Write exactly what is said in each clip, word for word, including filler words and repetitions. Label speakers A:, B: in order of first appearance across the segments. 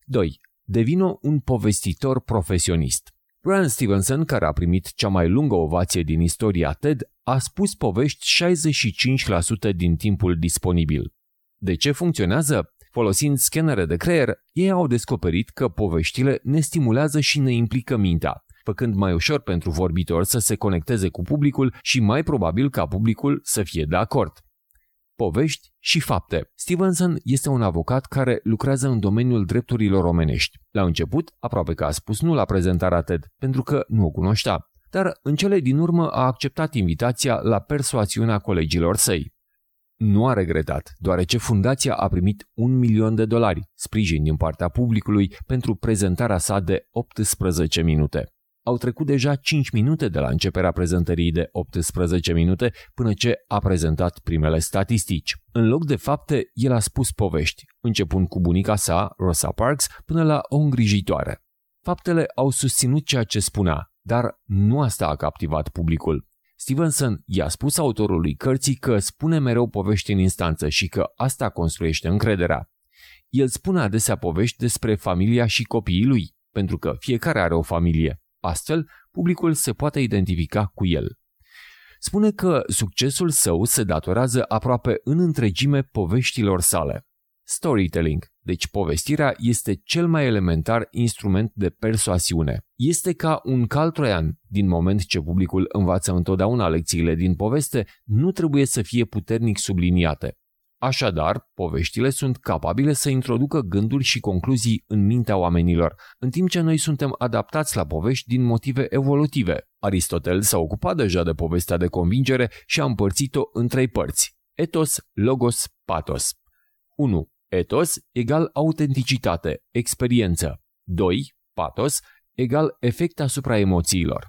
A: doi. Devină un povestitor profesionist. Brian Stevenson, care a primit cea mai lungă ovație din istoria TED, a spus povești șaizeci și cinci la sută din timpul disponibil. De ce funcționează? Folosind scanere de creier, ei au descoperit că poveștile ne stimulează și ne implică mintea, făcând mai ușor pentru vorbitor să se conecteze cu publicul și mai probabil ca publicul să fie de acord. Povești și fapte. Stevenson este un avocat care lucrează în domeniul drepturilor omenești. La început, aproape că a spus nu la prezentarea TED, pentru că nu o cunoștea, dar în cele din urmă a acceptat invitația la persoasiunea colegilor săi. Nu a regretat, deoarece fundația a primit un milion de dolari, sprijin din partea publicului pentru prezentarea sa de optsprezece minute. Au trecut deja cinci minute de la începerea prezentării de optsprezece minute până ce a prezentat primele statistici. În loc de fapte, el a spus povești, începând cu bunica sa, Rosa Parks, până la o îngrijitoare. Faptele au susținut ceea ce spunea, dar nu asta a captivat publicul. Stevenson i-a spus autorului cărții că spune mereu povești în instanță și că asta construiește încrederea. El spune adesea povești despre familia și copiii lui, pentru că fiecare are o familie. Astfel, publicul se poate identifica cu el. Spune că succesul său se datorează aproape în întregime poveștilor sale. Storytelling, deci povestirea, este cel mai elementar instrument de persoasiune. Este ca un cal troian. Din moment ce publicul învață întotdeauna lecțiile din poveste, nu trebuie să fie puternic subliniate. Așadar, poveștile sunt capabile să introducă gânduri și concluzii în mintea oamenilor, în timp ce noi suntem adaptați la povești din motive evolutive. Aristotel s-a ocupat deja de povestea de convingere și a împărțit-o în trei părți: ethos, logos, pathos. unu. Ethos egal autenticitate, experiență. doi. Pathos egal efect asupra emoțiilor.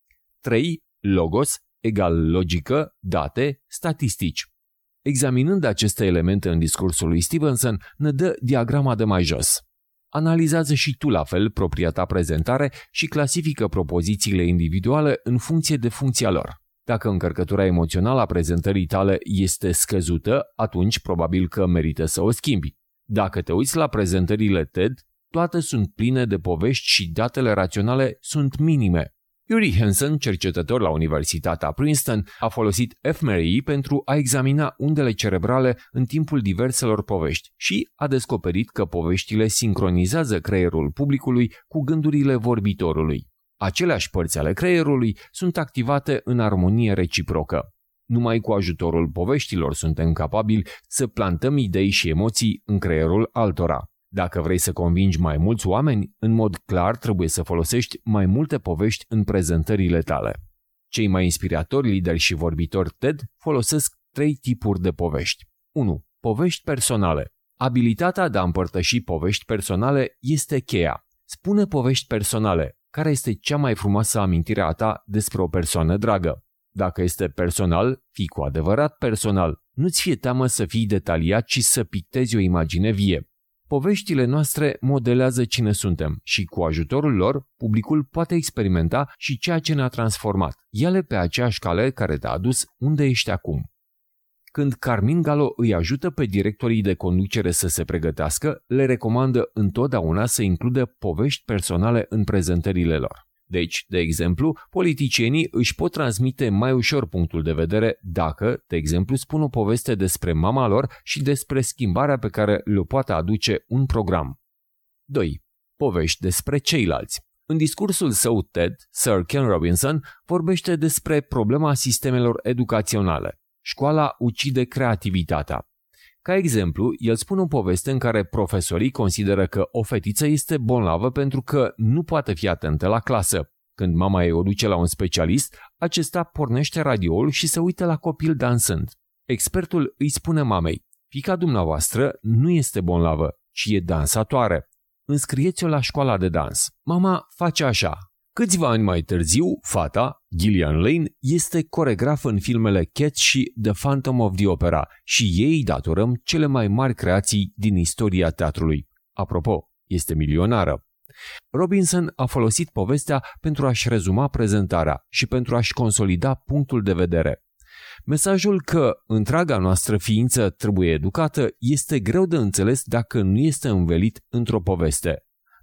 A: trei. Logos egal logică, date, statistici. Examinând aceste elemente în discursul lui Stevenson, ne dă diagrama de mai jos. Analizează și tu la fel propria ta prezentare și clasifică propozițiile individuale în funcție de funcția lor. Dacă încărcătura emoțională a prezentării tale este scăzută, atunci probabil că merită să o schimbi. Dacă te uiți la prezentările TED, toate sunt pline de povești și datele raționale sunt minime. Uri Hansen, cercetător la Universitatea Princeton, a folosit fMRI pentru a examina undele cerebrale în timpul diverselor povești și a descoperit că poveștile sincronizează creierul publicului cu gândurile vorbitorului. Aceleași părți ale creierului sunt activate în armonie reciprocă. Numai cu ajutorul poveștilor suntem capabili să plantăm idei și emoții în creierul altora. Dacă vrei să convingi mai mulți oameni, în mod clar trebuie să folosești mai multe povești în prezentările tale. Cei mai inspiratori lideri și vorbitori TED folosesc trei tipuri de povești. unu. Povești personale. Abilitatea de a împărtăși povești personale este cheia. Spune povești personale. Care este cea mai frumoasă amintire a ta despre o persoană dragă? Dacă este personal, fii cu adevărat personal. Nu-ți fie teamă să fii detaliat și să pictezi o imagine vie. Poveștile noastre modelează cine suntem și cu ajutorul lor, publicul poate experimenta și ceea ce ne-a transformat. Ia-le pe aceeași cale care te-a adus unde ești acum. Când Carmine Gallo îi ajută pe directorii de conducere să se pregătească, le recomandă întotdeauna să includă povești personale în prezentările lor. Deci, de exemplu, politicienii își pot transmite mai ușor punctul de vedere dacă, de exemplu, spun o poveste despre mama lor și despre schimbarea pe care le poate aduce un program. doi. Povești despre ceilalți. În discursul său TED, Sir Ken Robinson vorbește despre problema sistemelor educaționale. Școala ucide creativitatea. Ca exemplu, el spune o poveste în care profesorii consideră că o fetiță este bolnavă pentru că nu poate fi atentă la clasă. Când mama ei o duce la un specialist, acesta pornește radioul și se uită la copil dansând. Expertul îi spune mamei: fiica dumneavoastră nu este bolnavă, ci e dansatoare. Înscrieți-o la școala de dans. Mama face așa. Câțiva ani mai târziu, fata, Gillian Lane, este coregraf în filmele Cats și The Phantom of the Opera și ei datorăm cele mai mari creații din istoria teatrului. Apropo, este milionară. Robinson a folosit povestea pentru a-și rezuma prezentarea și pentru a-și consolida punctul de vedere. Mesajul că întreaga noastră ființă trebuie educată este greu de înțeles dacă nu este învelit într-o poveste.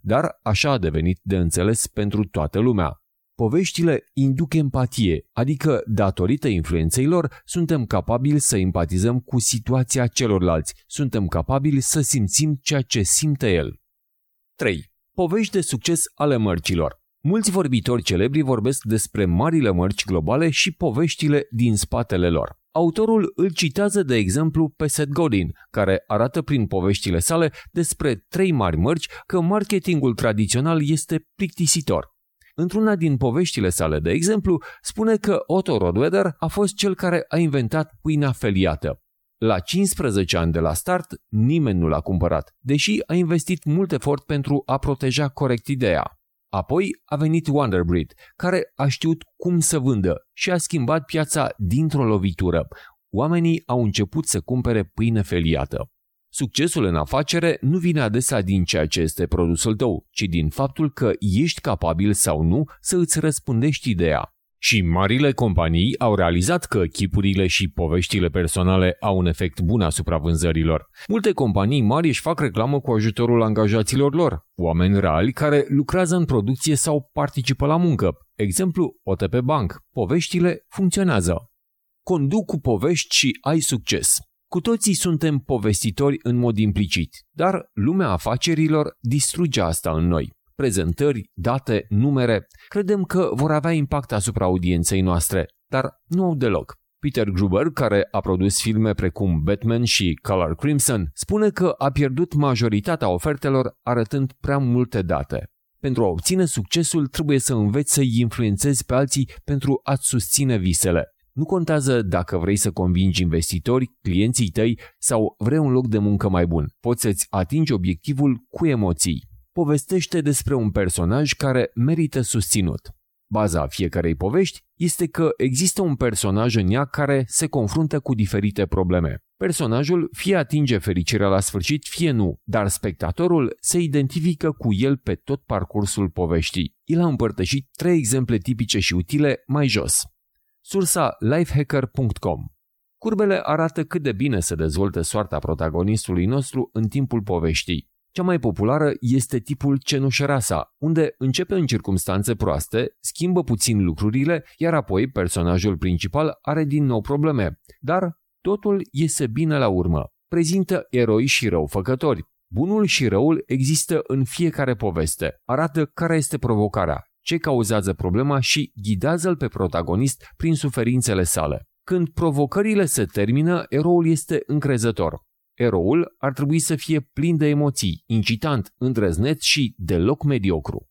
A: dar așa a devenit de înțeles pentru toată lumea. Poveștile induc empatie, adică, datorită influenței lor, suntem capabili să empatizăm cu situația celorlalți, suntem capabili să simțim ceea ce simte el. trei. Povești de succes ale mărcilor. Mulți vorbitori celebri vorbesc despre marile mărci globale și poveștile din spatele lor. Autorul îl citează de exemplu pe Seth Godin, care arată prin poveștile sale despre trei mari mărci că marketingul tradițional este plictisitor. Într-una din poveștile sale, de exemplu, spune că Otto Rottweiler a fost cel care a inventat pâinea feliată. La cincisprezece ani de la start, nimeni nu l-a cumpărat, deși a investit mult efort pentru a proteja corect ideea. Apoi a venit Wonderbreed, care a știut cum să vândă și a schimbat piața dintr-o lovitură. Oamenii au început să cumpere pâine feliată. Succesul în afacere nu vine adesea din ceea ce este produsul tău, ci din faptul că ești capabil sau nu să îți răspândești ideea. Și marile companii au realizat că chipurile și poveștile personale au un efect bun asupra vânzărilor. Multe companii mari își fac reclamă cu ajutorul angajaților lor, oameni reali care lucrează în producție sau participă la muncă. Exemplu, O T P Bank. Poveștile funcționează. Conduc cu povești și ai succes. Cu toții suntem povestitori în mod implicit, dar lumea afacerilor distruge asta în noi. Prezentări, date, numere, credem că vor avea impact asupra audienței noastre, dar nu au deloc. Peter Gruber, care a produs filme precum Batman și Color Crimson, spune că a pierdut majoritatea ofertelor arătând prea multe date. Pentru a obține succesul, trebuie să înveți să-i influențezi pe alții pentru a-ți susține visele. Nu contează dacă vrei să convingi investitori, clienții tăi sau vrei un loc de muncă mai bun. Poți să-ți atingi obiectivul cu emoții. Povestește despre un personaj care merită susținut. Baza fiecarei povești este că există un personaj în ea care se confruntă cu diferite probleme. Personajul fie atinge fericirea la sfârșit, fie nu, dar spectatorul se identifică cu el pe tot parcursul poveștii. El a împărtășit trei exemple tipice și utile mai jos. Sursa lifehacker punct com. Curbele arată cât de bine se dezvoltă soarta protagonistului nostru în timpul poveștii. Cea mai populară este tipul cenușărasa, unde începe în circumstanțe proaste, schimbă puțin lucrurile, iar apoi personajul principal are din nou probleme, dar totul iese bine la urmă. Prezintă eroi și răufăcători. Bunul și răul există în fiecare poveste. Arată care este provocarea, ce cauzează problema și ghidează-l pe protagonist prin suferințele sale. Când provocările se termină, eroul este încrezător. Eroul ar trebui să fie plin de emoții, incitant, îndrăzneț și deloc mediocru.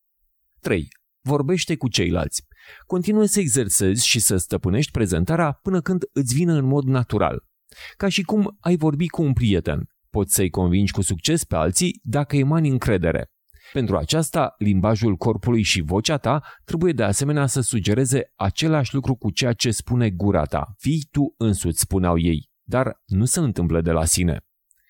A: trei. Vorbește cu ceilalți. Continuă să exersezi și să stăpânești prezentarea până când îți vine în mod natural. Ca și cum ai vorbi cu un prieten. Poți să-i convingi cu succes pe alții dacă emani încredere. Pentru aceasta, limbajul corpului și vocea ta trebuie de asemenea să sugereze același lucru cu ceea ce spune gura ta. Fii tu însuți, spuneau ei. Dar nu se întâmplă de la sine.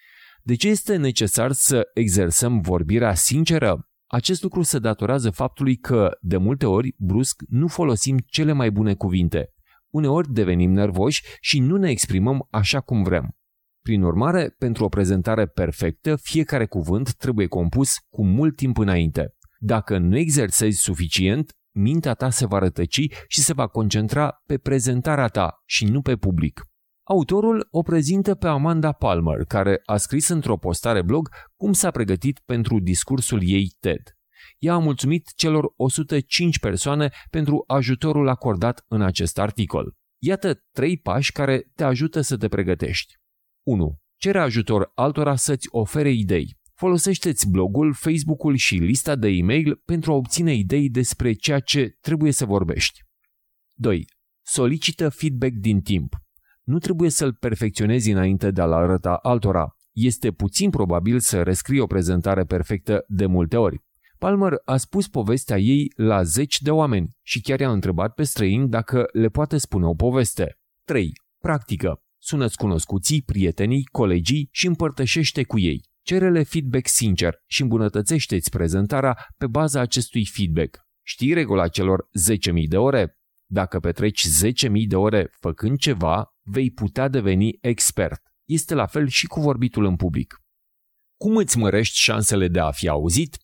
A: De ce este necesar să exersăm vorbirea sinceră? Acest lucru se datorează faptului că, de multe ori, brusc, nu folosim cele mai bune cuvinte. Uneori devenim nervoși și nu ne exprimăm așa cum vrem. Prin urmare, pentru o prezentare perfectă, fiecare cuvânt trebuie compus cu mult timp înainte. Dacă nu exersezi suficient, mintea ta se va rătăci și se va concentra pe prezentarea ta și nu pe public. Autorul o prezintă pe Amanda Palmer, care a scris într-o postare blog cum s-a pregătit pentru discursul ei TED. Ea a mulțumit celor o sută cinci persoane pentru ajutorul acordat în acest articol. Iată trei pași care te ajută să te pregătești. unu. Cere ajutor altora să-ți ofere idei. Folosește-ți blogul, Facebook-ul și lista de e-mail pentru a obține idei despre ceea ce trebuie să vorbești. doi. Solicită feedback din timp. Nu trebuie să-l perfecționezi înainte de a-l arăta altora. Este puțin probabil să rescrii o prezentare perfectă de multe ori. Palmer a spus povestea ei la zeci de oameni și chiar i-a întrebat pe străini dacă le poate spune o poveste. trei. Practică. Sună-ți cunoscuții, prietenii, colegii și împărtășește cu ei. Cere-le feedback sincer și îmbunătățește-ți prezentarea pe baza acestui feedback. Știi regula celor zece mii de ore? Dacă petreci zece mii de ore făcând ceva, vei putea deveni expert. Este la fel și cu vorbitul în public. Cum îți mărești șansele de a fi auzit?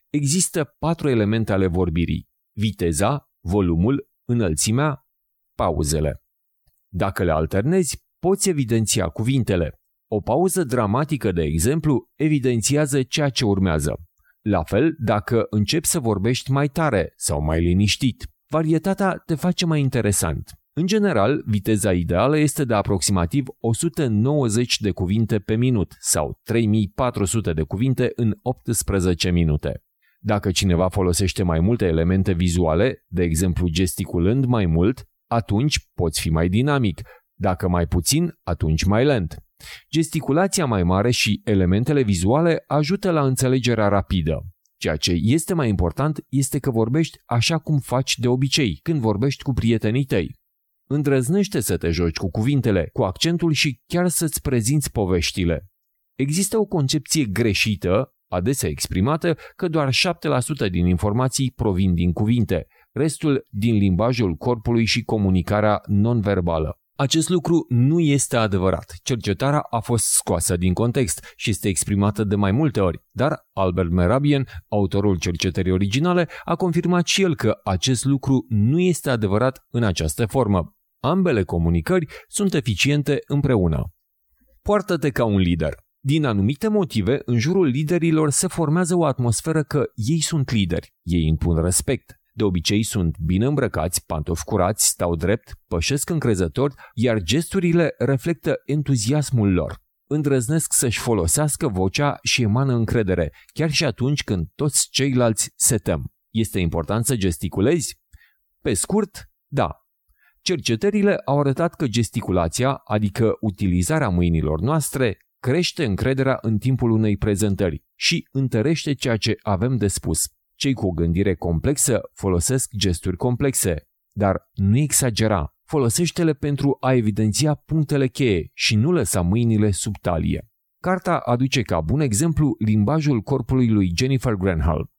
A: Există patru elemente ale vorbirii: viteza, volumul, înălțimea, pauzele. Dacă le alternezi, poți evidenția cuvintele. O pauză dramatică, de exemplu, evidențiază ceea ce urmează. La fel, dacă începi să vorbești mai tare sau mai liniștit, varietatea te face mai interesant. În general, viteza ideală este de aproximativ o sută nouăzeci de cuvinte pe minut sau trei mii patru sute de cuvinte în optsprezece minute. Dacă cineva folosește mai multe elemente vizuale, de exemplu gesticulând mai mult, atunci poți fi mai dinamic, dacă mai puțin, atunci mai lent. Gesticulația mai mare și elementele vizuale ajută la înțelegerea rapidă. Ceea ce este mai important este că vorbești așa cum faci de obicei când vorbești cu prietenii tăi. Îndrăznește să te joci cu cuvintele, cu accentul și chiar să-ți prezinți poveștile. Există o concepție greșită, adesea exprimată, că doar șapte la sută din informații provin din cuvinte, restul din limbajul corpului și comunicarea non-verbală. Acest lucru nu este adevărat. Cercetarea a fost scoasă din context și este exprimată de mai multe ori, dar Albert Mehrabian, autorul cercetării originale, a confirmat și el că acest lucru nu este adevărat în această formă. Ambele comunicări sunt eficiente împreună. Poartă-te ca un lider. Din anumite motive, în jurul liderilor se formează o atmosferă că ei sunt lideri, ei impun respect. De obicei sunt bine îmbrăcați, pantofi curați, stau drept, pășesc încrezători, iar gesturile reflectă entuziasmul lor. Îndrăznesc să-și folosească vocea și emană încredere, chiar și atunci când toți ceilalți se tem. Este important să gesticulezi? Pe scurt, da. Cercetările au arătat că gesticulația, adică utilizarea mâinilor noastre, crește încrederea în timpul unei prezentări și întărește ceea ce avem de spus. Cei cu o gândire complexă folosesc gesturi complexe, dar nu exagera. Folosește-le pentru a evidenția punctele cheie și nu lăsa mâinile sub talie. Carta aduce ca bun exemplu limbajul corpului lui Jennifer Granholm.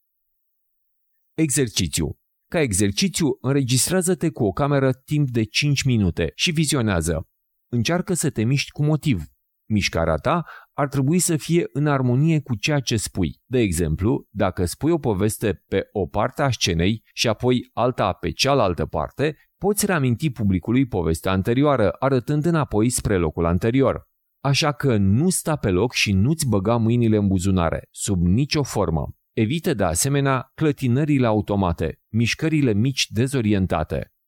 A: Exercițiu. Ca exercițiu, înregistrează-te cu o cameră timp de cinci minute și vizionează. Încearcă să te miști cu motiv. Mișcarea ta ar trebui să fie în armonie cu ceea ce spui. De exemplu, dacă spui o poveste pe o parte a scenei și apoi alta pe cealaltă parte, poți reaminti publicului povestea anterioară, arătând înapoi spre locul anterior. Așa că nu sta pe loc și nu-ți băga mâinile în buzunare, sub nicio formă. Evită de asemenea clătinările automate, mișcările mici dezorientate.